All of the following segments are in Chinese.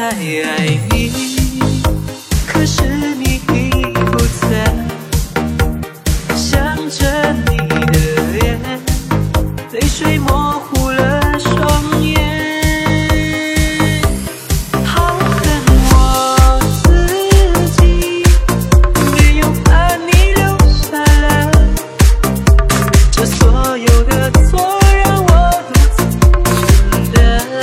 爱你，可是你已不在，想着你的脸，泪水模糊了双眼。好恨我自己，没有把你留下来，这所有的错让我独自承担。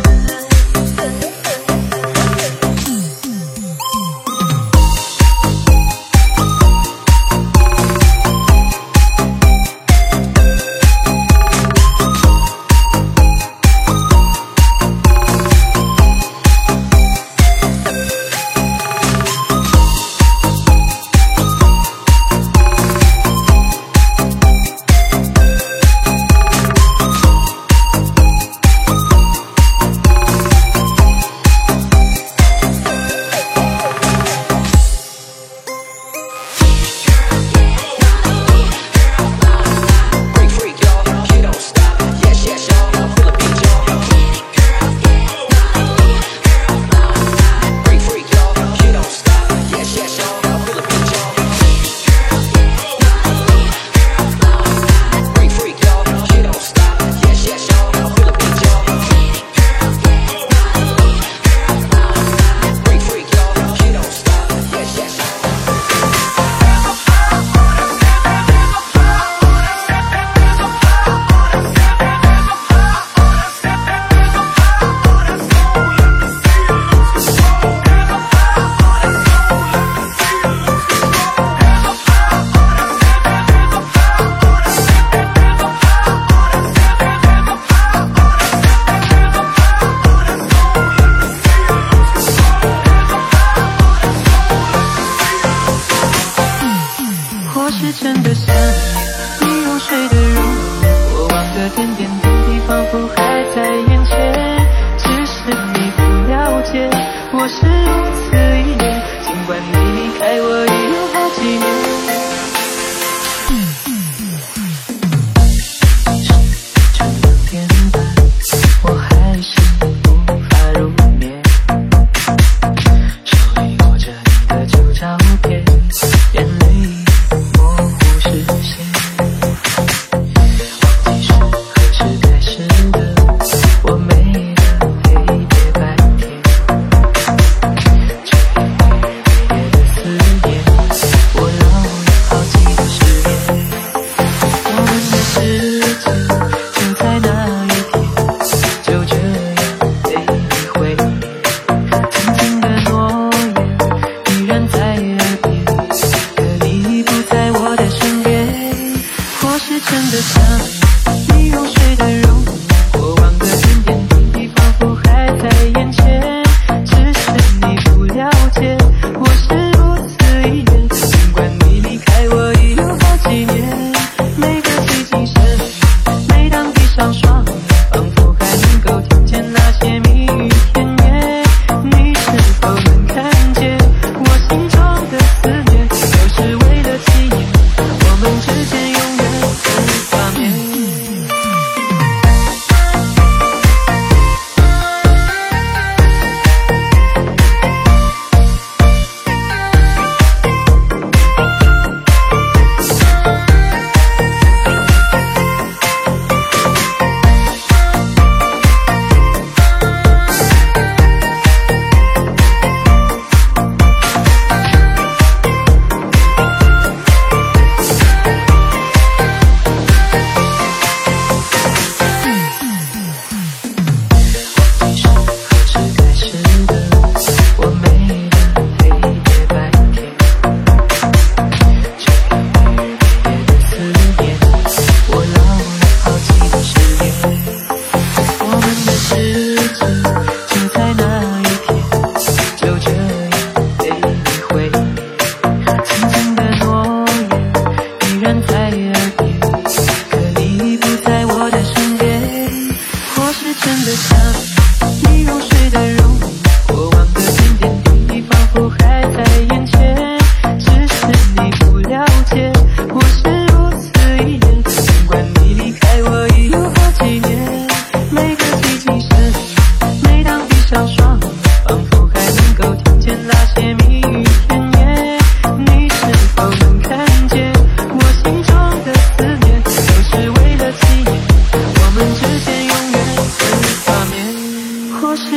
我是真的想念你入睡的容颜，过往的点点滴滴仿佛还在眼前，只是你不了解，我是如此依恋，尽管你离开我已有好几年。这2点半，我还是无法入眠，手里握着你的旧照片，眼泪模糊视线，忘记是何时开始的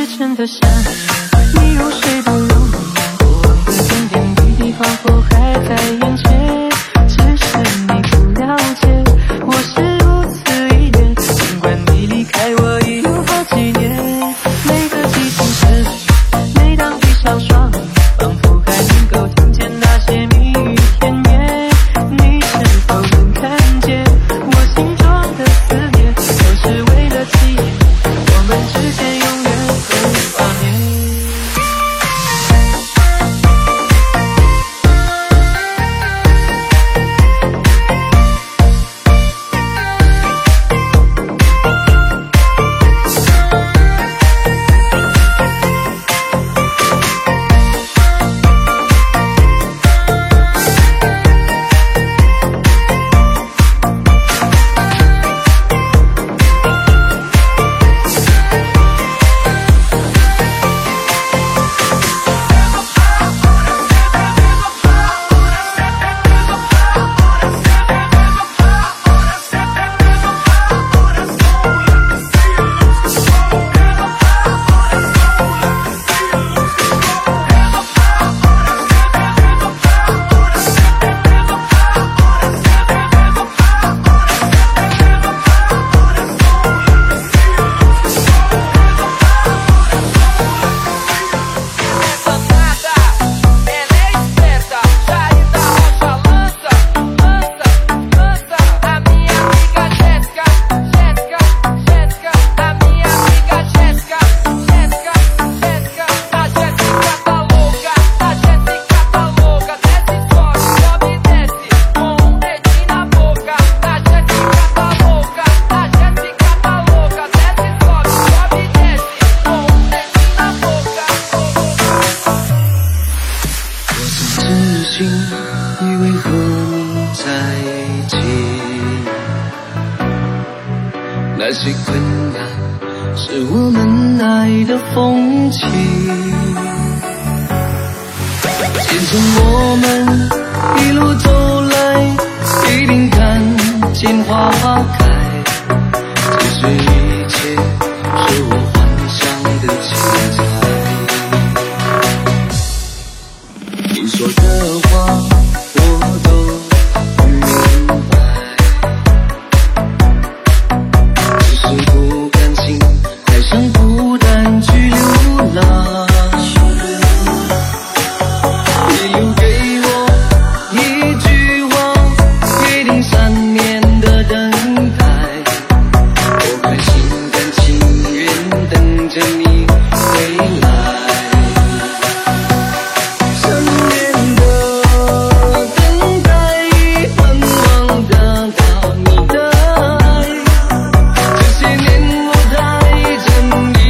真的想你入睡的容颜，过往的点点滴滴仿佛还在眼前，只是你不了解，我是如此依恋。尽管你离开我已有好几年，每个寂静深夜，每当闭上双眼，仿佛还能够听见那些蜜语甜言。你是否能看见我心中的思念，都是为了纪念我们之间永远会挂念。 以为和你在一起，那些困难是我们爱的风景。见证我们一路走来，一定看见花花开。其实一切是我幻想的精彩。你说的话我都明白，只是不甘心爱上孤单去流浪。你留给我一句话，约定3年的等待，我还心甘情愿等着你回来。你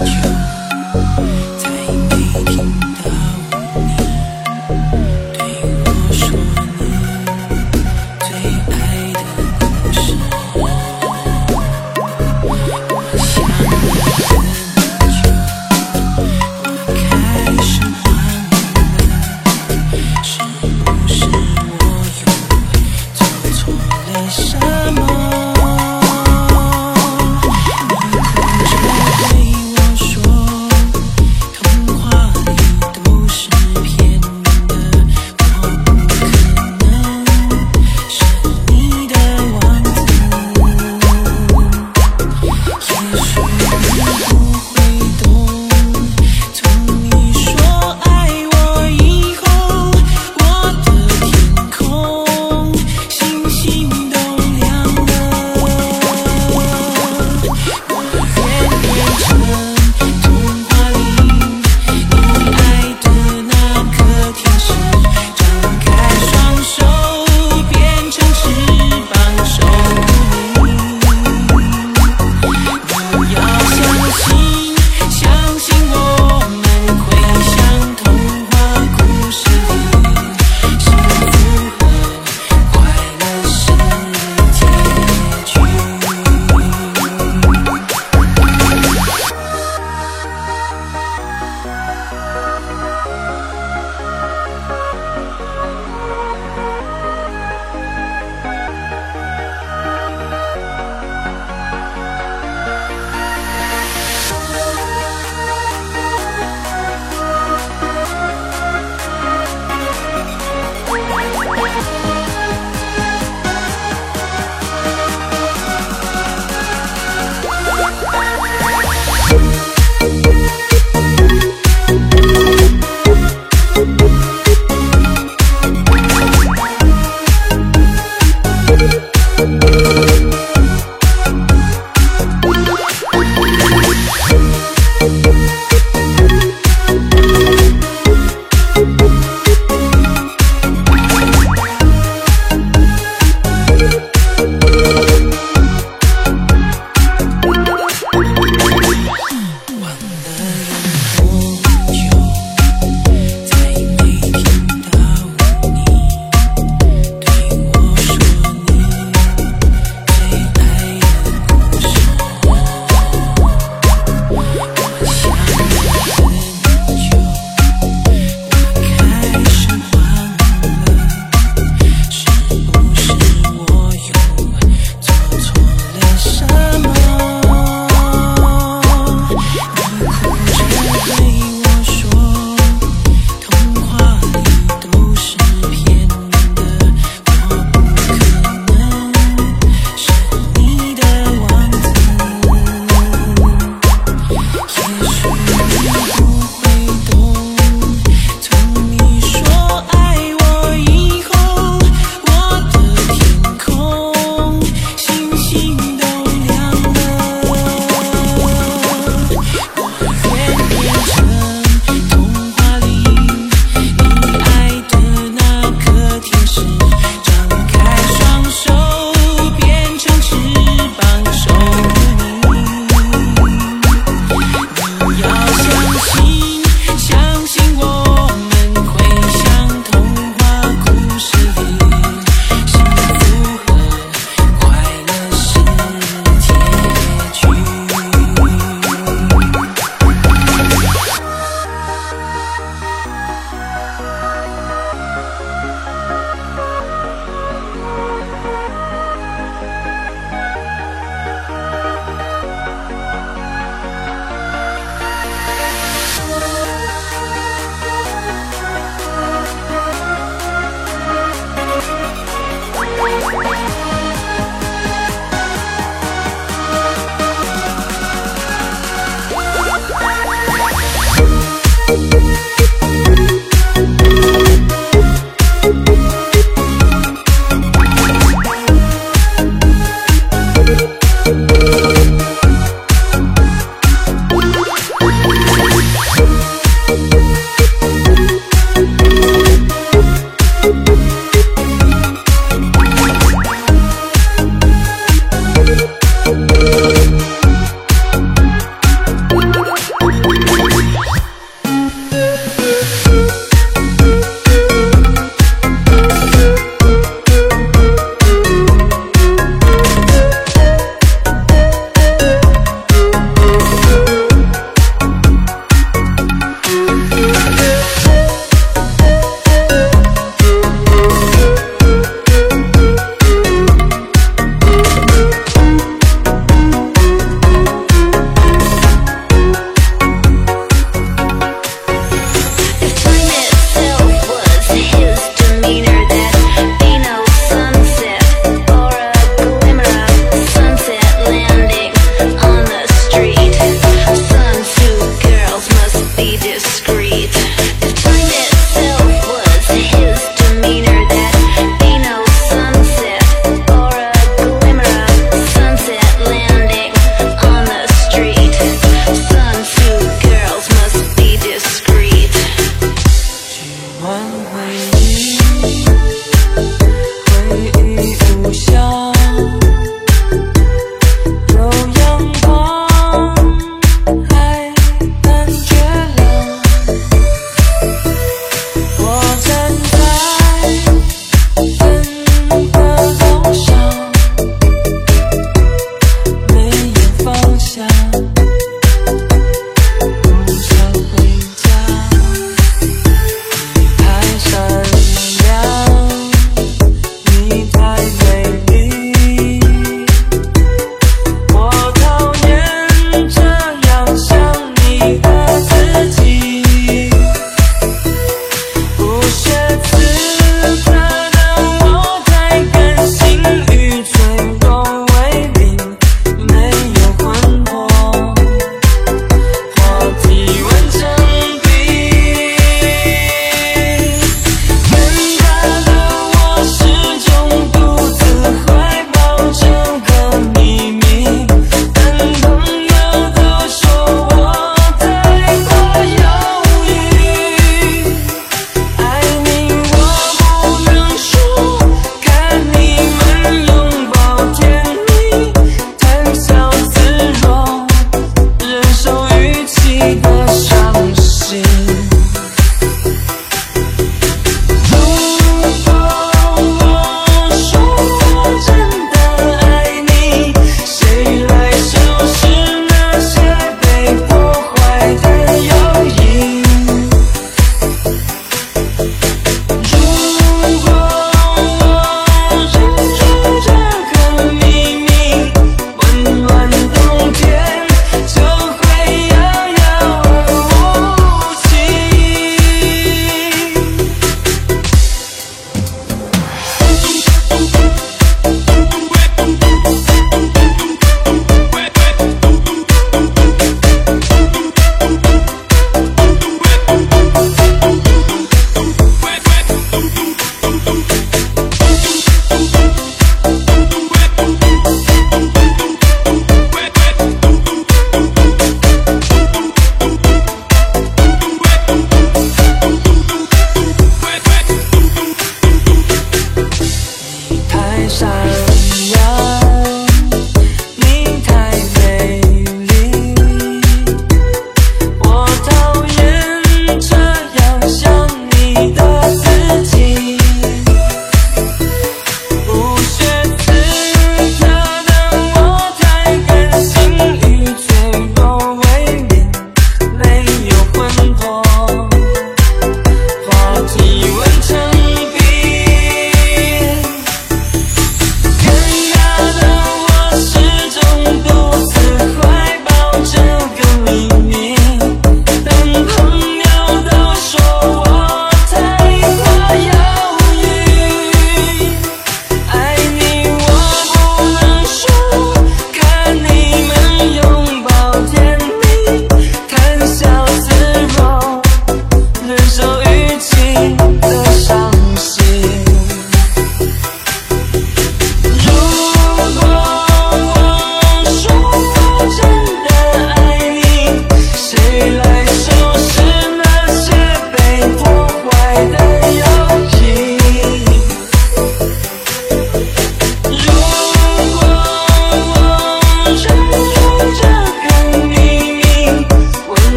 相信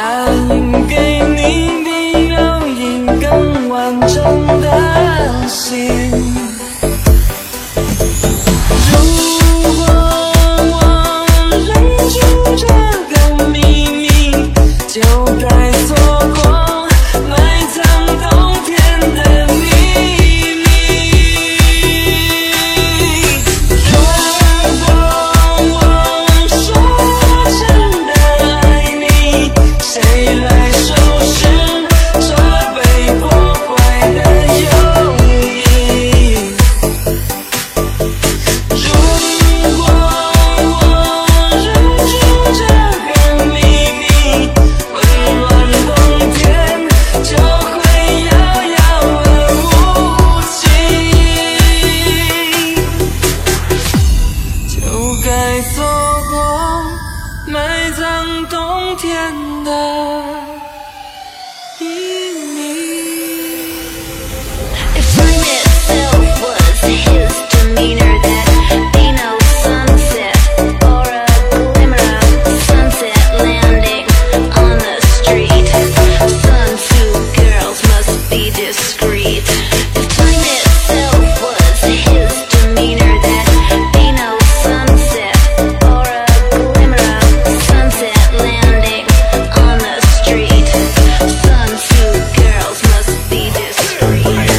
应给你比表演更完整的心。如果我忍住这个秘密，就该错过埋藏冬天的秘密。如果我说我真的爱你，谁来收拾这被破坏的友谊？如果我忍住这个秘密，温暖冬天就会遥遥而无期，就该错过埋葬冬天的秘密。 If time itself was his demeanor, that'd be no sunset or a glimmer of sunset landing on the street. Sun-suit girls must be discreet. If time itself was his demeanor, that'd be no sunset or a glimmer of sunset landing on the street. Sun-suit girls must be discreet.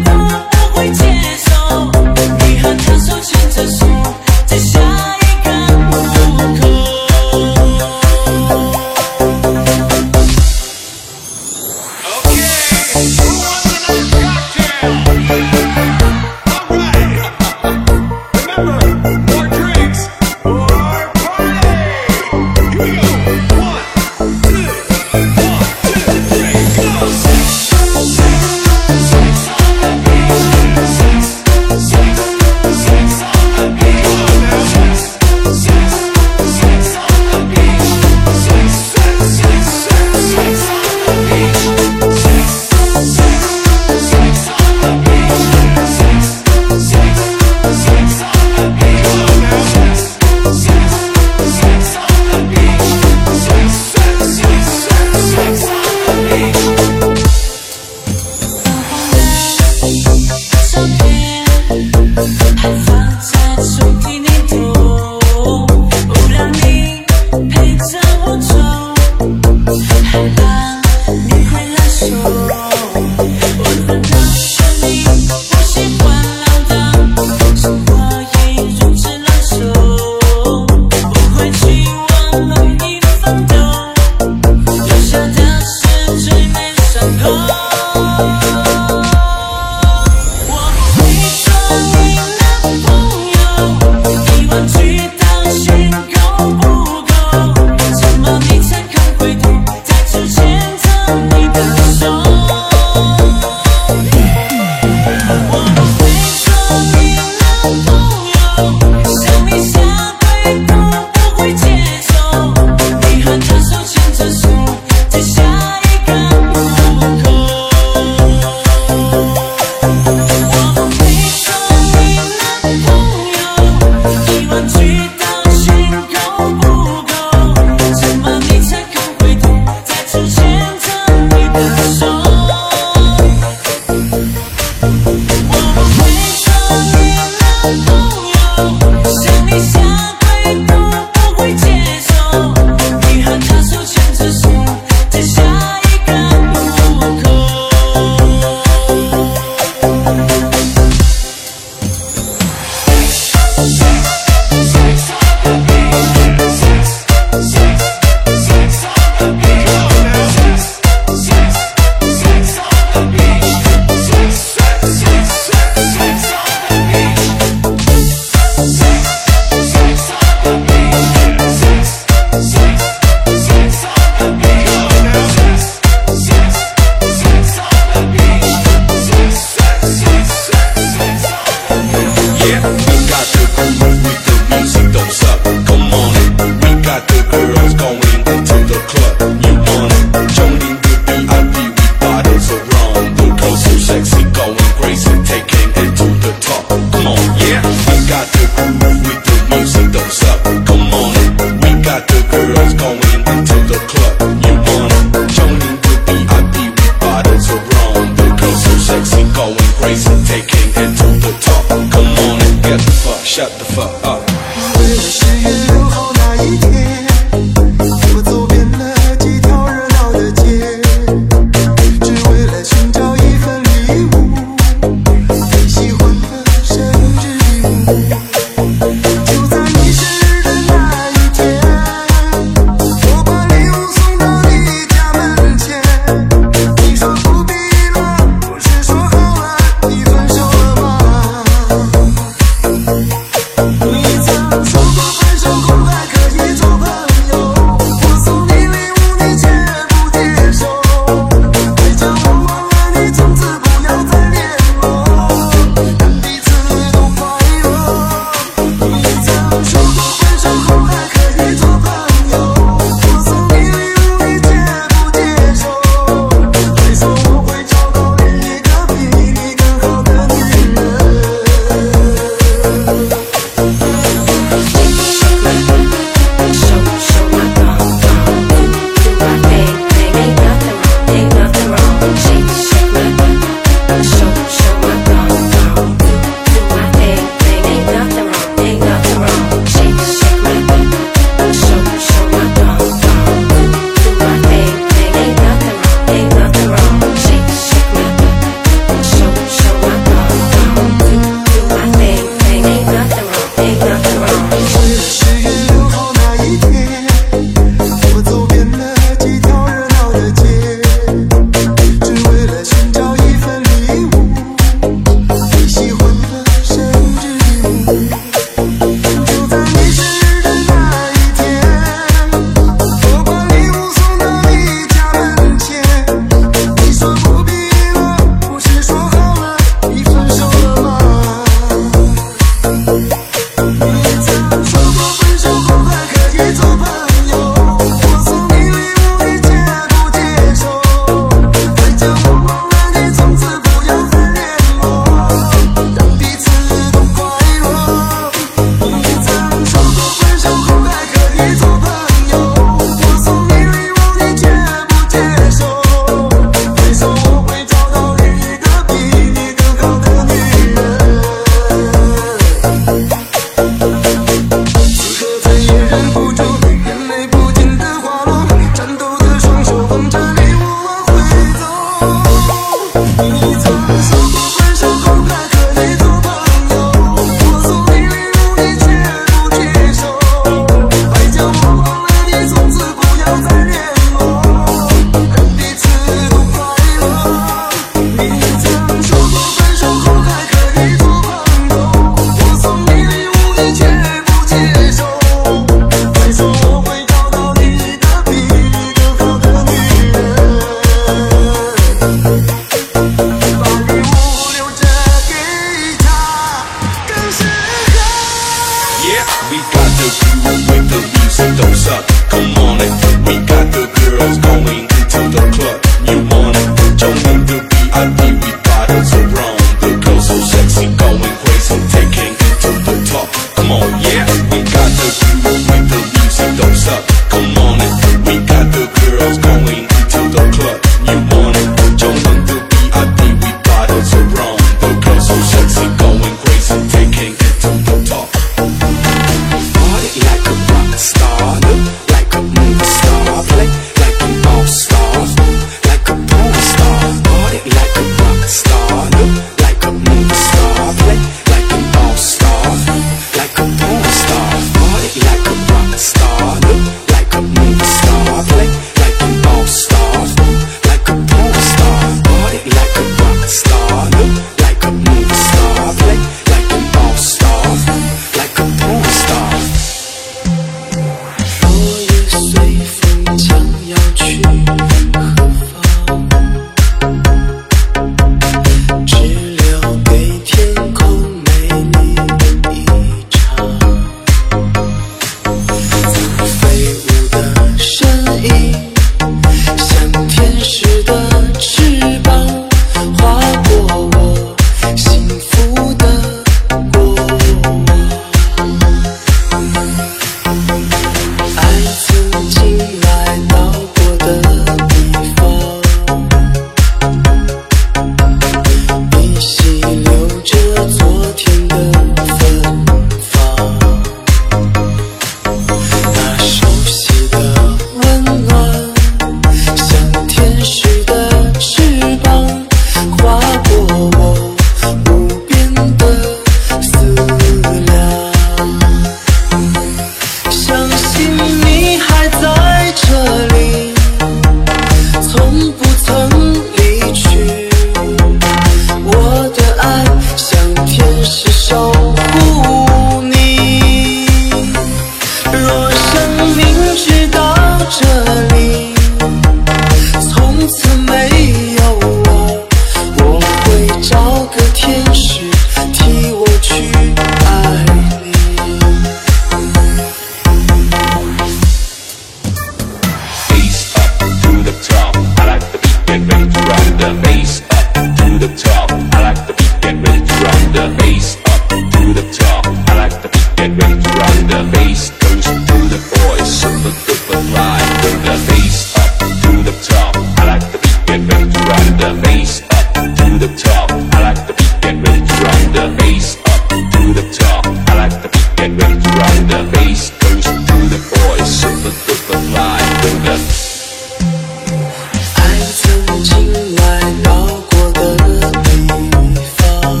get ready to run the bass up to the top. I like the beat, get ready to run the bass up to the top. I like the beat, get ready to run the bass goes to the boys, super duper fly with the。 爱曾经来到过的地方，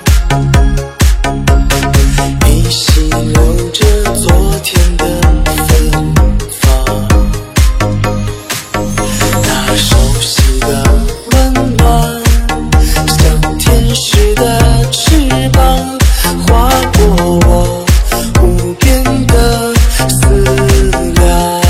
依稀留着昨天的芬芳，那熟悉的温暖，像天使的翅膀，划过我无边的思量。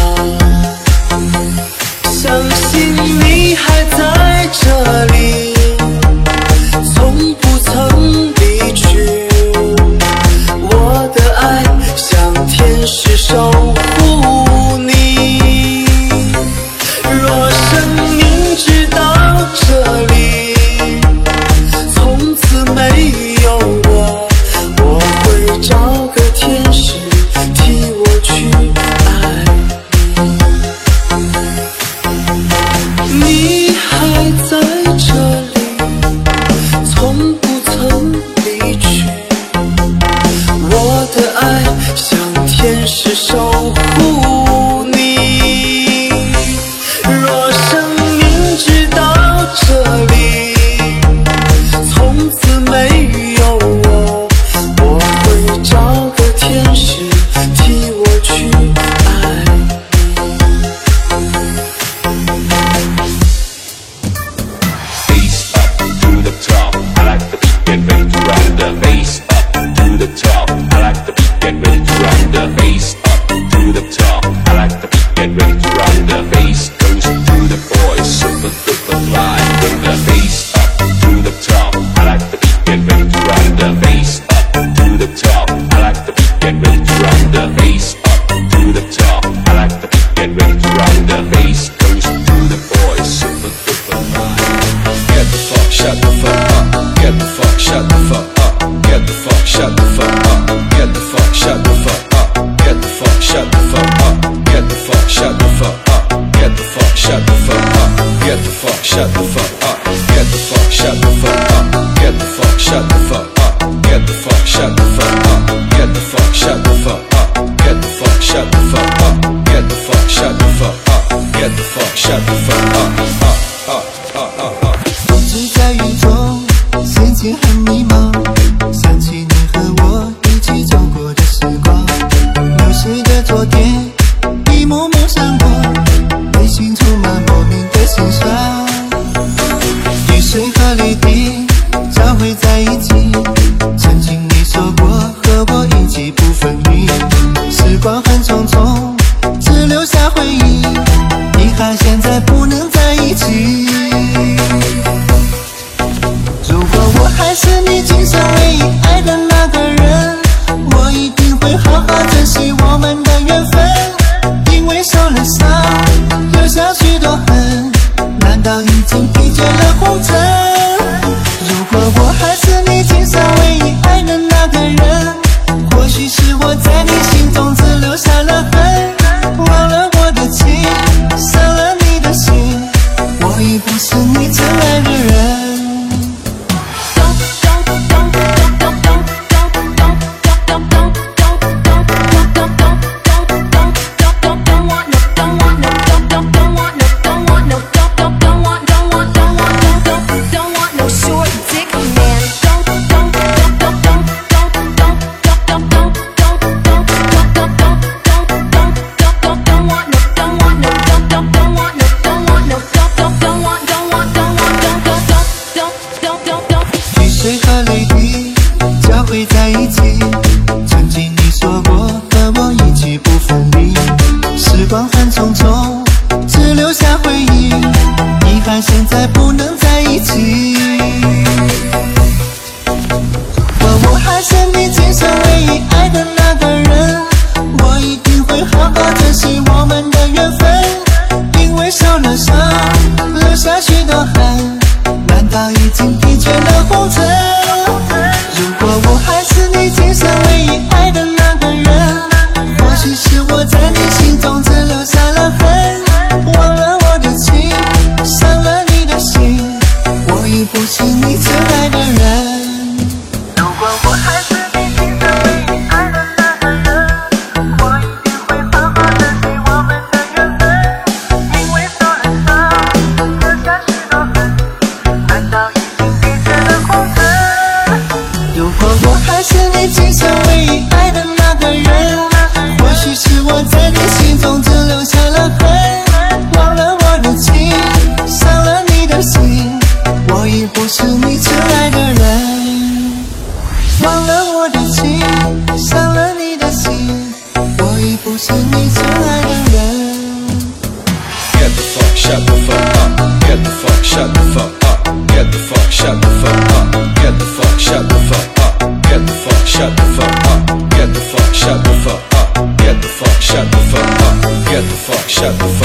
相信你还在这里，从不曾离去。我的爱像天使守护你。若生命直到这里，从此没有我，我会找个天使替我去爱你。你还在这里，从不曾离去。我的爱像天使守护你。若生命直到这里，从此没有我，我会找个天使替我去爱 Bass up to the top. I like the beat, get ready to run the bass up to the top. I like the beat, get ready to run the bass up to the top. I like the beat, get ready to run the bass goes to the boys, super duper fly with the bass up to the top. I like the beat, get ready to run the bass up to the top. I like the beat, get ready to run the bass up to the top. I like the beat, get ready to run the bass goes to the boys, super duper fly. Get the fuck, shut the fuck up. Get the fuck, shut the fuck up. Get the fuck, shut the fuck up. Get the fuck, shut the fuck up. Get the fuck, shut the fuck up. Get the fuck, shut the fuck up. Get the fuck, shut the fuck up. Get the fuck, shut the fuck up. Get the fuck, shut the fuck up. Get the fuck, shut the fuck up. Get the fuck, shut the fuck up. Get the fuck, shut the fuck up. Get the fuck, shut the fuck up. Get the fuck, shut the fuck up. Get the fuck, shut the fuck up. 只在雨中，心情很迷茫，想起你和我一起走过的时光，流逝的昨天，一幕幕闪过，内心充满莫名的心伤。雨水和泪滴交汇在一起，曾经你说过和我一起不分离，时光很匆匆，只留下回忆，遗憾现在不能在一起。如果我还是你今生唯一爱的那个人，我一定会好好珍惜我们的缘分。因为受了伤，留下许多恨，难道已经疲倦了红尘？如果我还是你今生唯一爱的那个人，或许是我在你心中只留下了恨，忘了我的情，伤了你的心，我已不是你真爱的人。水和泪滴交汇在一起，曾经你说过和我一起不分离，时光很匆匆，只留下回忆，遗憾现在不能在一起。我还是你今生唯一爱的那个人，我一定会好好珍惜我们的缘分，因为受了伤，留下许多恨，难道已经疲倦了红尘？如果我还是你今生唯一爱的那个人，或许是我在你心中只留下了恨，忘了我的情，伤了你的不是你真爱的人。如果我还是你今生唯一爱的那个人，我一定会好好珍惜我们的缘分。因为受了伤，留下许多痕，难道已经疲倦的红尘？如果我还是你今生唯一爱的那个人，或许是我在你心中只留下了痕，忘了我的情，伤了你的心，我已不是你真爱的人。忘了我的情，伤了你的心，我已不是你真爱的人。 Get the fuck, shut the fuck up. Get the fuck, shut the fuck up. Get the fuck, shut the fuck up. Get the fuck, shut the fuck up. Get the fuck, shut the fuck up. Get the fuck, shut the fuck up. Get the fuck, shut the fuck up. Get the fuck, shut the fuck up.